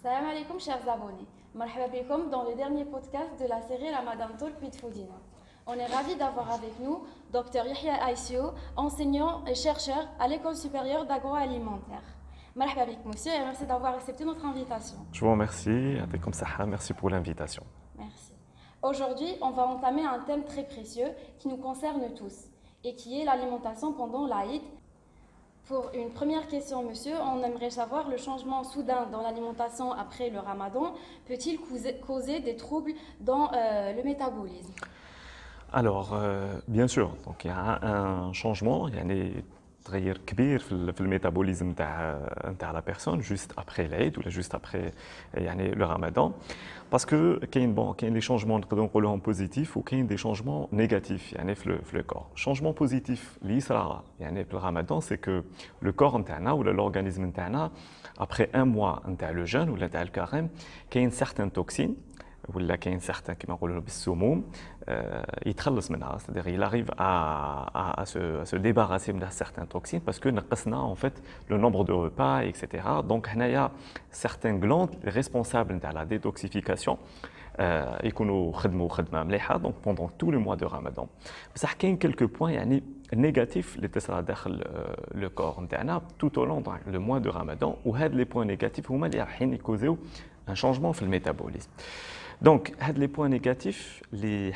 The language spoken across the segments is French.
Salam alaikum chers abonnés. Marhaba bikum dans le dernier podcast de la série Ramadan Talk with Foodina. On est ravis d'avoir avec nous Dr Yahya Aïssio, enseignant et chercheur à l'École supérieure d'agroalimentaire. Marhaba bik monsieur et merci d'avoir accepté notre invitation. Je vous remercie, merci pour l'invitation. Merci. Aujourd'hui, on va entamer un thème très précieux qui nous concerne tous et qui est l'alimentation pendant l'Aïd. Pour une première question, monsieur, on aimerait savoir le changement soudain dans l'alimentation après le ramadan peut-il causer des troubles dans le métabolisme? Alors, bien sûr, donc il y a un changement, il y a تغير كبير في الميتابوليزم نتاع لا بيرسون جوست ابري العيد ولا جوست ابري يعني لو رمضان باسكو كاين لي شونجمون نقدروا نقولوهم بوزيتيف وكاين دي شونجمون نيجاتيف يعني في لو كور شونجمون بوزيتيف اللي يصرى يعني في الرمضان سي كو لو كور نتاعنا ولا لورغانيزم نتاعنا ابري ان موا نتاع لو جون ولا نتاع الكاريم كاين سيغتان توكسين ولا كاين سيغتان كيما نقولوا بالسموم يتخلص منها c'est-à-dire il arrive à se débarrasser de certains toxines parce que نقصنا en fait le nombre de repas etc. donc هنايا certains glandes responsables نتاع la détoxification يكونوا خدموا خدمه مليحه donc pendant tout le mois de Ramadan بصح كاين quelques points يعني négatifs اللي تصرى داخل لو كور نتاعنا tout au long le mois de Ramadan وهاد لي بوين نيجاتيف هما اللي رايحين يكوزيو un changement في الميتابوليزم Donc, les points négatifs, les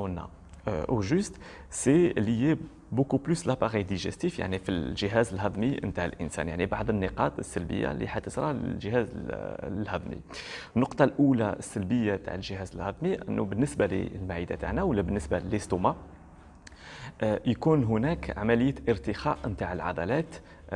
au juste, c'est lié beaucoup plus l'appareil digestif, يعني في الجهاز الهضمي نتاع الإنسان، يعني بعض النقاط السلبية اللي حتصرى للجهاز الهضمي. النقطة الأولى السلبية تاع الجهاز الهضمي أنه بالنسبة للمعدة تاعنا ولا بالنسبة للاستوما يكون هناك عملية ارتخاء نتاع العضلات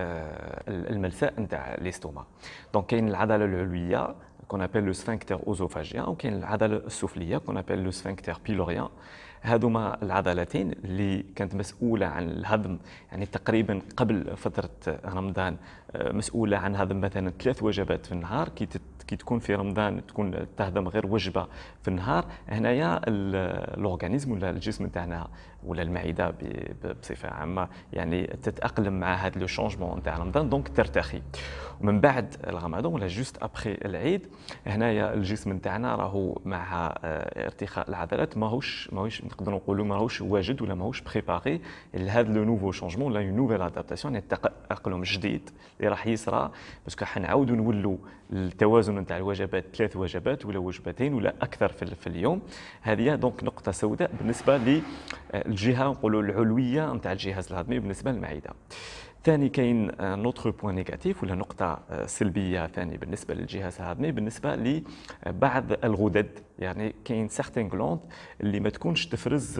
الملساء نتاع الاستوما. دونك كاين العضلة العلوية qu'on appelle le sphincter œsophagien وكاين العضله السفليه qu'on appelle le sphincter pylorien هذوما العضلتين اللي كانت مسؤوله عن الهضم يعني تقريبا قبل فتره رمضان مسؤوله عن هضم مثلا 3 وجبات في النهار كي تكون في رمضان تكون تهضم غير وجبه في النهار هنايا الاورغانيزم ولا الجسم تاعنا ولا المعده بصفه عامه يعني تتاقلم مع هذا لو شونجمون نتاع رمضان دونك ترتخي ومن بعد رمضان ولا جوست ابري العيد هنايا الجسم نتاعنا راهو مع ارتخاء العضلات ماهوش نقدروا نقولوا ماهوش واجد ولا ماهوش بريباري لهذا لو نوفو شونجمون لا نوفيل ادابتاسيون يعني التاقلم جديد اللي راح يصرى باسكو حنعاودوا نولوا التوازن نتاع الوجبات 3 وجبات ولا وجبتين ولا اكثر في اليوم هذه دونك نقطه سوداء بالنسبه للجهه نقولوا العلويه نتاع الجهاز الهضمي بالنسبه للمعده. ثاني كاين نوتر بوين نيجاتيف ولا نقطة سلبية ثانية بالنسبة للجهاز الهضمي بالنسبة لبعض الغدد يعني كاين سيغتين غلوند اللي ما تكونش تفرز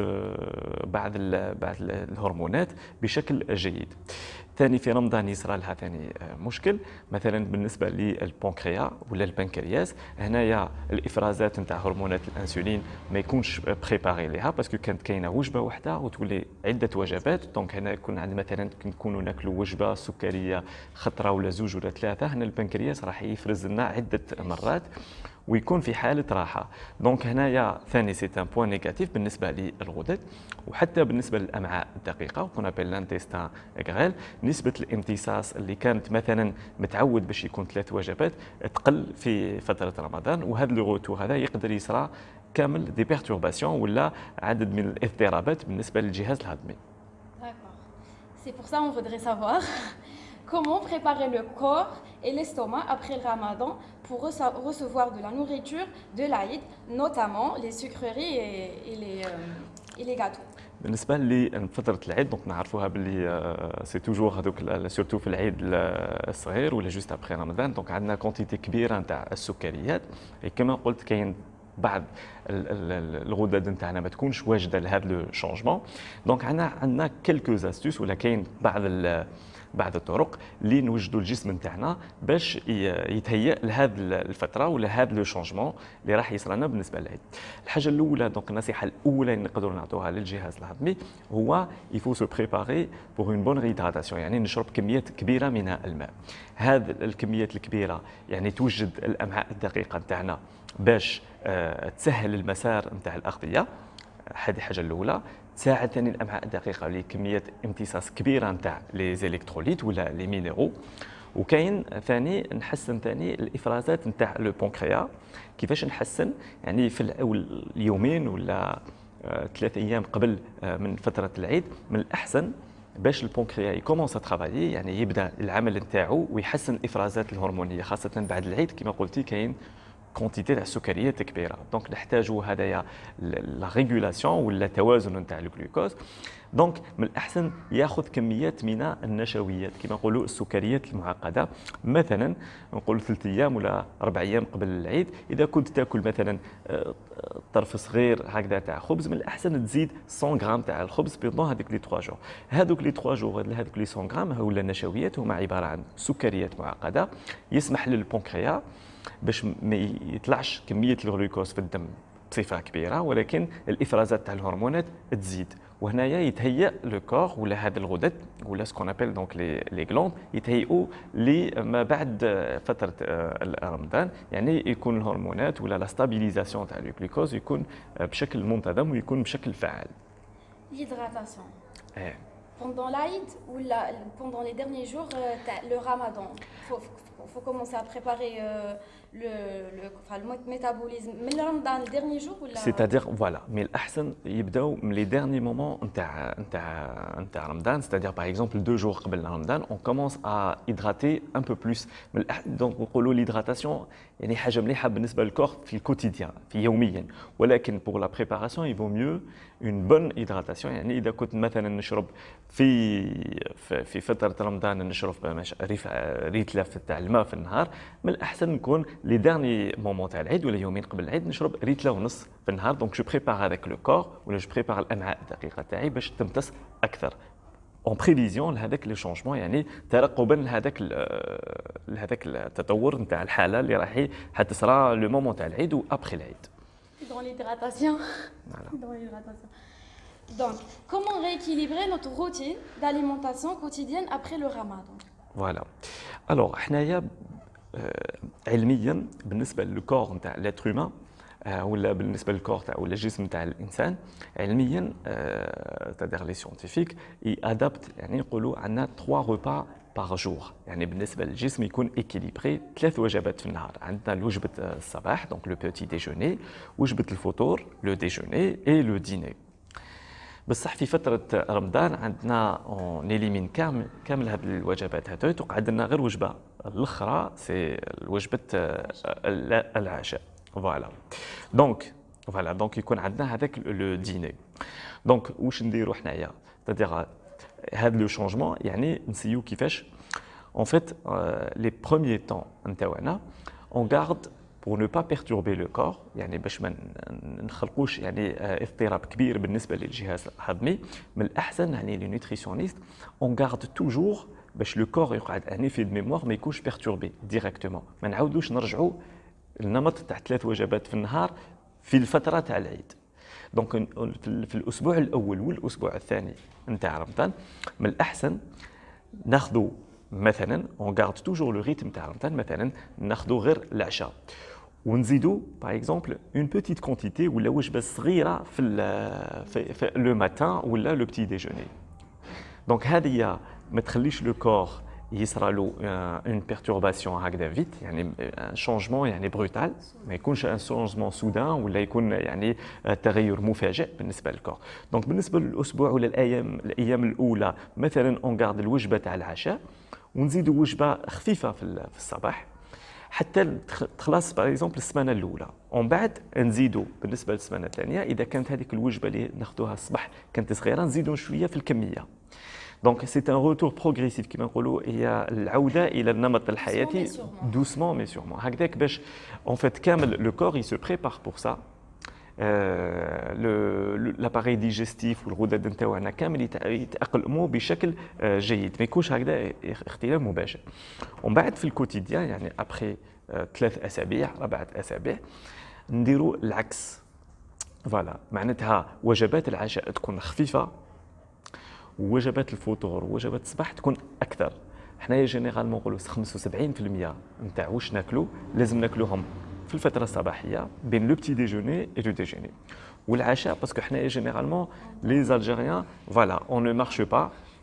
بعض الهرمونات بشكل جيد. ثاني في رمضان يصرى لها ثاني مشكل مثلا بالنسبه للبنكرياس ولا البنكرياس هنايا الافرازات نتاع هرمونات الانسولين ما يكونش بريباري ليها باسكو كانت كاينه وجبه واحده وتولي عده وجبات دونك هنا يكون عندنا مثلا نكونوا ناكلوا وجبه سكريه خطره ولا زوج ولا ثلاثه هنا البنكرياس راح يفرز لنا عده مرات ويكون في حاله راحه دونك هنايا ثاني سي ان بوين نيجاتيف بالنسبه للغدد وحتى بالنسبه للامعاء الدقيقه وكنا بين لانتيستان غريل نسبه الامتصاص اللي كانت مثلا متعود باش يكون 3 وجبات تقل في فتره رمضان وهذا لو روتور هذا يقدر يصرى كامل دي بيرتورباسيون ولا عدد من الاضطرابات بالنسبه للجهاز الهضمي. D'accord. C'est pour ça on voudrait savoir comment préparer le corps et l'estomac après le ramadan pour recevoir de la nourriture de l'Aïd, notamment les sucreries et les gâteaux. بالنسبه لفتره العيد دونك نعرفوها باللي سي توجور هذوك سورتو في العيد الصغير ولا جوست ابري رمضان دونك عندنا كونتيتي كبيره نتاع السكريات كما قلت كاين بعض الغدد نتاعنا ما تكونش واجده لهذا لو شونجمون دونك عندنا كيلكو استوس ولا كاين بعض الطرق اللي نوجدوا الجسم نتاعنا باش يتهيأ لهذه الفتره ولا هذا لو شونجمون اللي راح يصير لنا بالنسبه للعيد. الحاجه الاولى دونك النصيحه الاولى اللي نقدروا نعطوها للجهاز الهضمي هو يفو سو بريباري بور اون بون ريداتاسيون يعني نشرب كميات كبيره من الماء. هذه الكميات الكبيره يعني توجد الامعاء الدقيقه نتاعنا باش تسهل المسار نتاع الاغذيه هذه الحاجه الاولى. تساعد ثاني الامعاء الدقيقه لكميه امتصاص كبيره نتاع لي زيليكتروليت ولا لي مينيرو وكاين ثاني نحسن ثاني الافرازات نتاع لو بونكريا. كيفاش نحسن؟ يعني في الأول اليومين ولا 3 ايام قبل من فتره العيد من الاحسن باش البونكريا يكومونس ترافايي، يعني يبدا العمل نتاعو ويحسن الافرازات الهرمونيه، خاصه بعد العيد كما قلتي كاين كونتيتي تاع السكريات كبيره، دونك نحتاجوا هذايا لا ريغولاسيون ولا توازن نتاع الجلوكوز. دونك من الاحسن ياخذ كميات من النشويات كما نقولوا السكريات المعقده، مثلا نقول 3 ايام ولا 4 ايام قبل العيد اذا كنت تاكل مثلا طرف صغير هكذا تاع خبز، من الاحسن تزيد 100 غرام تاع الخبز بيندون هذوك لي 3 جور. هذوك لي 3 جور هذوك لي 100 غرام ولا النشويات هما عباره عن سكريات معقده، يسمح للبنكرياس باش ما يطلعش كميه الجلوكوز في الدم بصفه كبيره، ولكن الافرازات تاع الهرمونات تزيد، وهنايا يتهيأ لو كور ولا هذا الغدد ولا سكون ابل دونك لي غلوند يتهيئوا لما بعد فتره رمضان، يعني يكون الهرمونات ولا لا ستابيليزاسيون تاع الجلوكوز يكون بشكل منتظم ويكون بشكل فعال. L'hydratation. Pendant l'Aïd ou pendant les derniers jours, le Ramadan, faut commencer à préparer le métabolisme. Mais le Ramadan, le dernier jour ou C'est-à-dire, voilà, mais l'ahsan يبداو من les derniers moments نتاع Ramadan, c'est-à-dire par exemple 2 jours قبل Ramadan, on commence à hydrater un peu plus. Donc نقولوا l'hydratation يعني حاجه مليحه بالنسبه للكور في الكوتيديان في يوميا، ولكن pour la préparation il vaut mieux une bonne hydratation. يعني اذا كنت مثلا نشرب في فتره رمضان نشرب ريتله تاع الماء في النهار، من الاحسن نكون لي ديرني مومون تاع العيد ولا يومين قبل العيد نشرب ريتله ونص في النهار. دونك جو بريبار هذاك لو كور ولا جو بريبار الامعاء الدقيقه تاعي باش تمتص اكثر اون بريفيزيون لهذاك لي شونجمون، يعني ترقبا لهذاك التطور نتاع الحاله اللي راح حتصرى لو مومون تاع العيد وابخي العيد. Dans l'hydratation. Voilà. Dans l'hydratation. Donc, comment rééquilibrer notre routine d'alimentation quotidienne après le Ramadan? Voilà. Alors, حنايا علميا بالنسبه للكور نتاع لاتر هيومان ولا بالنسبه للكور تاع ولا الجسم تاع الانسان علميا تادير لي سيونتيفيك ادابت، يعني يقولوا عندنا 3 ريبا باغ جور، يعني بالنسبه للجسم يكون ايكيليبري 3 وجبات في النهار. عندنا وجبه الصباح دونك لو بوتي ديجوني، وجبه الفطور لو ديجوني اي لو ديني. بصح في فتره رمضان عندنا اون اليمين كامل هذه الوجبات هذوك، تقعد لنا غير وجبه الاخرى سي وجبه العشاء. فوالا دونك يكون عندنا هذاك لو ديني. دونك واش نديروا حنايا؟ تادير هذا لو شونجمون يعني نسيو كيفاش en fait les premiers temps نتاعنا on garde pour ne pas perturber le corps، يعني باش ما نخلقوش يعني اضطراب كبير بالنسبه للجهاز الهضمي. من الاحسن يعني لي نوتريسيونيست on garde toujours باش لو كور يقعد ان ايفي دو ميموار ما يكونش بيرتوربي ديريكتومون، ما نعاودوش نرجعوا النمط تاع 3 وجبات في النهار في الفتره تاع العيد. دونك في الاسبوع الاول والاسبوع الثاني نتاع رمضان من الاحسن ناخذوا مثلا اون غارد توجور لو ريتم تاع رمضان، مثلا ناخذوا غير العشاء ونزيدوا باغ اكزومبل اون بوتيت كونتيتي ولا وجبه صغيره في لو ماتان ولا لو بتي ديجوني. دونك هذه ما تخليش لو كور يصرى له اون بيرتورباسيون هكذا فيت، يعني ان شونجمون يعني بروتال، ما يكونش ان شونجمون سودان ولا يكون يعني تغير مفاجئ بالنسبه للكور. دونك بالنسبه للاسبوع ولا الايام الاولى مثلا اون غارد الوجبه تاع العشاء ونزيدوا وجبه خفيفه في الصباح حتى تخلص باغ اكزومبل السمانه الاولى، ومن بعد نزيدوا بالنسبه للسمانه الثانيه اذا كانت هذيك الوجبه اللي ناخذوها الصباح كانت صغيره نزيدوا شويه في الكميه. دونك سي ان روتور بروغريسيف كما نقولوا، هي العوده الى النمط الحياتي دوسمون مي سيغمون هكذاك باش اون فيت كامل لو كور يسو بريبار بور سا. لاباري ديجستيف والغدد نتاعنا كامل يتاقلموا بشكل جيد، ما يكونش هكذا اختلال مباشر. ومن بعد في الكوتيديان يعني ابخي 3 اسابيع 4 اسابيع نديروا العكس. فوالا معناتها وجبات العشاء تكون خفيفه ووجبات الفطور ووجبات الصباح تكون اكثر. حنايا جينيرالمون نقولوا 75% نتاع واش ناكلوا لازم ناكلوهم في الفتره الصباحيه بين لو بتي ديجوني اي لو ديجوني والعشاء، باسكو حنايا جينيرالمون لي الجيريان فوالا اون نو مارش با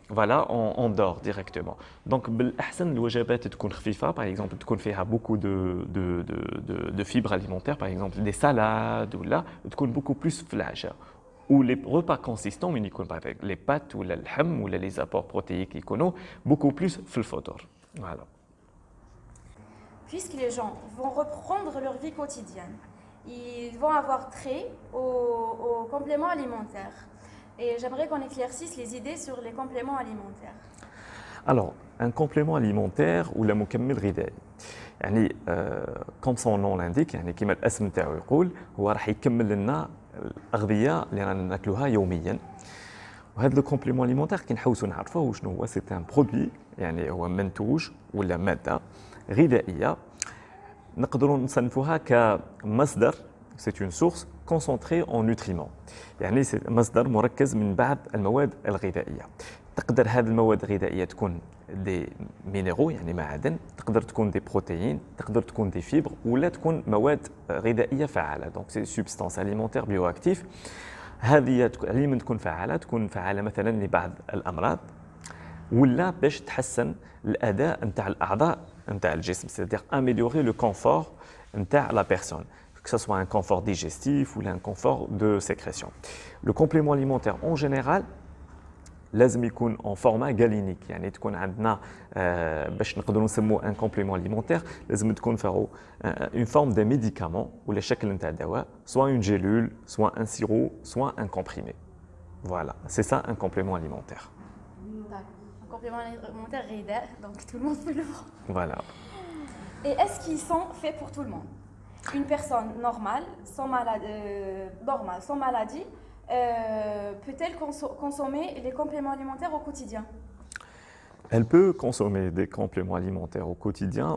voilà, on dort directement. Donc, بالأحسن الوجبات تكون خفيفة, par exemple, تكون فيها beaucoup de fibres alimentaires, par exemple des salades, ou là, تكون beaucoup plus في العشاء. Ou les repas consistants, mais يكون avec les pâtes ou اللحم ou les apports protéiques يكونوا beaucoup plus في الفطور. Voilà. Puisque les gens vont reprendre leur vie quotidienne, ils vont avoir trait aux compléments alimentaires. Et j'aimerais qu'on éclaircisse les idées sur les compléments alimentaires. Alors, un complément alimentaire ou la مكمل غذائي. يعني comme son nom l'indique, يعني كما الاسم تاعو يقول, هو راح يكمل لنا الأغذية اللي رانا ناكلوها يوميا. وهذا لو كومبليمون اليمونتير كي نحوسوا نعرفوه شنو هو, سي ان برودوي, يعني هو منتوج ولا ماده غذائيه نقدروا نصنفوها كمصدر, سي اون سورس كونسونطري اون نوتريمون, يعني مصدر مركز من بعض المواد الغذائيه. تقدر هذه المواد الغذائيه تكون دي مينيرو, يعني معادن, تقدر تكون دي بروتيين, تقدر تكون دي فيبر, ولا تكون مواد غذائيه فعاله. دونك سي سوبستانس اليمونتير بيو اكتيف. هذه اللي تكون فعاله مثلا لبعض الامراض, ولا باش تحسن الاداء نتاع الاعضاء نتاع الجسم, c'est-à-dire améliorer le confort نتاع la personne, que ce soit un confort digestif ou un confort de sécrétion. Le complément alimentaire en général لازم يكون en format galinique, يعني تكون عندنا باش نقدروا نسموه un complément alimentaire, لازم تكون فيه une forme de médicament ولا شكل نتاع دواء, soit une gélule, soit un sirop, soit un comprimé. Voilà, c'est ça un complément alimentaire. Un complément alimentaire غذائي, donc tout le monde peut le prendre. Voilà. Et est-ce qu'ils sont faits pour tout le monde? Une personne normale, sans maladie, peut-elle consommer les compléments alimentaires au quotidien? Elle peut consommer des compléments alimentaires au quotidien,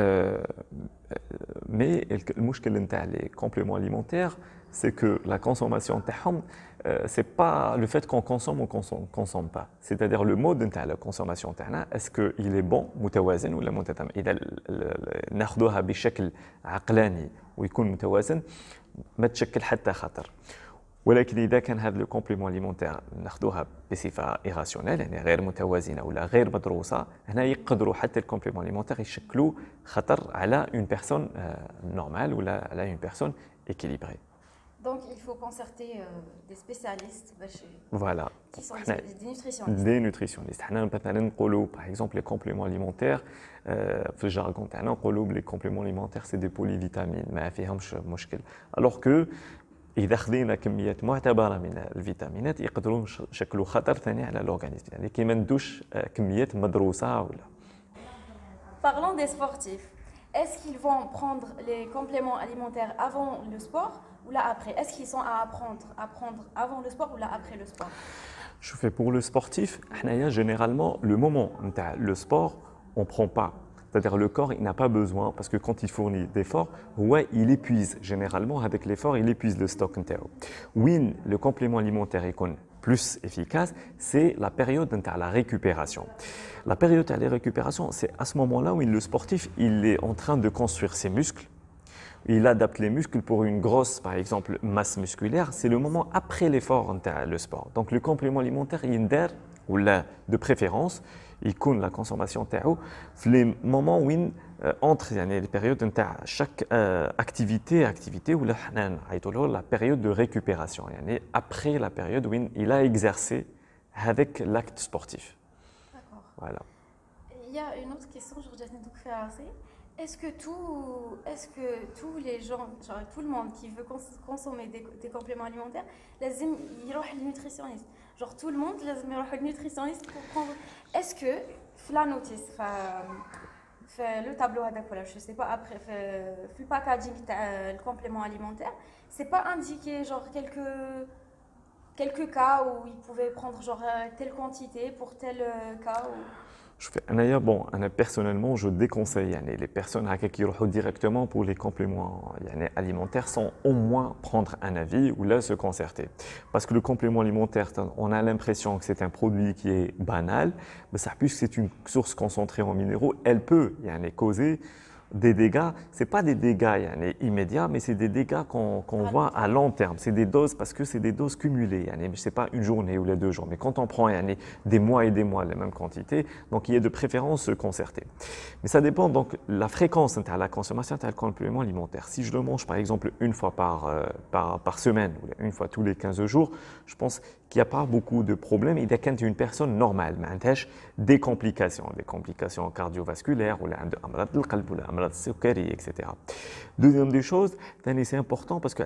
mais المشكل نتاع les compléments alimentaires, c'est que la consommation تاعهم, c'est pas le fait qu'on consomme ou qu'on consomme pas. C'est-à-dire le mode نتاع la consommation تاعنا, est-ce qu'il est bon, متوازن ولا متتم. إذا ناخذوها بشكل عقلاني ويكون متوازن ما تشكل حتى خطر. ولكن إذا كان هذا لو كومبليمون اليمونتير ناخذوها بصفة إيراسيونيل, يعني غير متوازنة ولا غير مدروسة, هنا يقدروا حتى الكومبليمون اليمونتير يشكلوا خطر على اون بيرسون نورمال ولا على اون بيرسون équilibrée. Donc il faut concerter des spécialistes voilà. qui sont des nutritionnistes. Des nutritionnistes. حنا مثلا نقولوا par exemple les compléments alimentaires, في الجارغون تاعنا نقولوا les compléments alimentaires c'est des polyvitamines, ما فيهمش مشكل. alors que إذا خذينا كميات معتبرة من الفيتامينات يقدروا يشكلوا خطر ثاني على الأورغانيزم, يعني كي ما ندوش كميات مدروسة ولا. Parlons des sportifs. Est-ce qu'ils vont prendre les compléments alimentaires avant le sport ou là après? Est-ce qu'ils sont à prendre avant le sport ou là après le sport? Je fais pour le sportif, généralement le moment le sport, on prend pas. C'est-à-dire le corps, il n'a pas besoin, parce que quand il fournit d'efforts, ouais, il épuise. Généralement, avec l'effort, il épuise le stock. Oui, le complément alimentaire est plus efficace, c'est la période de la récupération. La période de la récupération, c'est à ce moment-là où le sportif, il est en train de construire ses muscles. Il adapte les muscles pour une grosse, par exemple, masse musculaire. C'est le moment après l'effort le sport. Donc le complément alimentaire, il y a ou là, de préférence, يكون la consommation تاعو في les moments où entre يعني les périodes نتاع chaque activité ولا حنا نعيطوا له la période de récupération, يعني après la période où il a exercé avec l'acte sportif. D'accord. Voilà. Il y a une autre question, est-ce que tous les gens, genre tout le monde qui veut consommer des compléments alimentaires, لازم يروح للnutritionniste? Genre tout le monde لازم يروح للnutritionniste pour prendre. Est-ce que la notice, le tableau هذاك ولا je sais pas après le packaging تاع le complément alimentaire, c'est pas indiqué genre quelques cas où ils pouvaient prendre genre telle quantité pour tel cas ou... Personnellement, je déconseille les personnes qui vont directement pour les compléments alimentaires sans au moins prendre un avis ou là se concerter. Parce que le complément alimentaire, on a l'impression que c'est un produit qui est banal, mais ça, puisque c'est une source concentrée en minéraux, elle peut causer des dégâts, ce n'est pas des dégâts yani, immédiats, mais c'est des dégâts qu'on voit à long terme. C'est des doses parce que c'est des doses cumulées. Yani, ce n'est pas une journée ou les 2 jours. Mais quand on prend yani, des mois et des mois les mêmes quantités, donc il y a de préférence se concerter. Mais ça dépend donc la fréquence de la consommation de complément alimentaire. Si je le mange par exemple une fois par semaine ou une fois tous les 15 jours, je pense qu'il n'y a pas beaucoup de problèmes. Il y a quand une personne normale, mais des complications cardiovasculaires ou etc. Deuxième des choses, c'est important parce que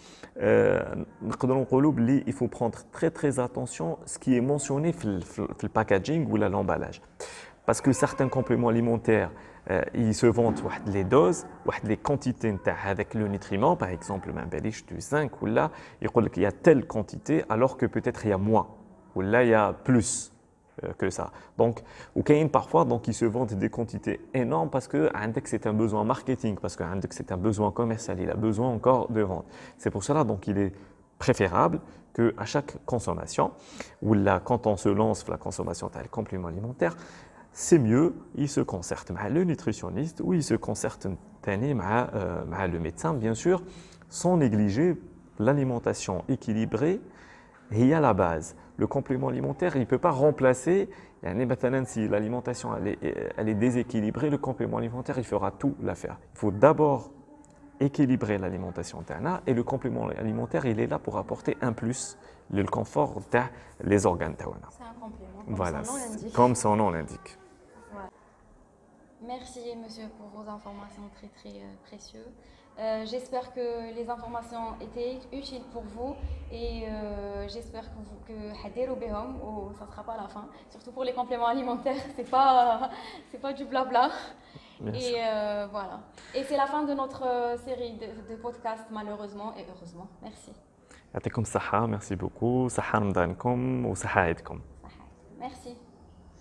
il faut prendre très attention à ce qui est mentionné dans le packaging ou l'emballage. Parce que certains compléments alimentaires, ils se vendent les doses, les quantités avec le nutriment, par exemple, du zinc, ou là, il y a telle quantité, alors que peut-être il y a moins, ou là, il y a plus que ça. Donc, ou parfois, donc, ils se vendent des quantités énormes parce que c'est un besoin marketing, parce que c'est un besoin commercial, il a besoin encore de vente. C'est pour cela, donc, il est préférable qu'à chaque consommation, ou là, quand on se lance la consommation d'un complément alimentaire, c'est mieux, il se concerte avec le nutritionniste ou il se concerte avec le médecin, bien sûr, sans négliger l'alimentation équilibrée. Et il y a la base. Le complément alimentaire, il ne peut pas remplacer, si l'alimentation elle est déséquilibrée, le complément alimentaire, il fera tout l'affaire. Il faut d'abord équilibrer l'alimentation et le complément alimentaire, il est là pour apporter un plus, le confort des organes. C'est un complément, voilà, son nom l'indique. Comme son nom l'indique. Merci monsieur pour vos informations très précieuses. J'espère que les informations étaient utiles pour vous et j'espère que hadirou behom ou ça ne sera pas la fin. Surtout pour les compléments alimentaires, c'est pas du blabla. Merci. Et voilà. Et c'est la fin de notre série de podcasts malheureusement et heureusement. Merci. يعطيكم الصحة, merci beaucoup. صحة رمضانكم وصحة عيدكم. Merci.